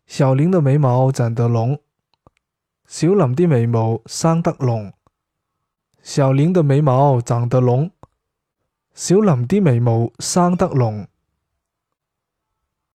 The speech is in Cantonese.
小玲的眉毛長得濃，小林啲眉毛生得濃。小玲的眉毛長得濃，小林啲眉毛生得濃。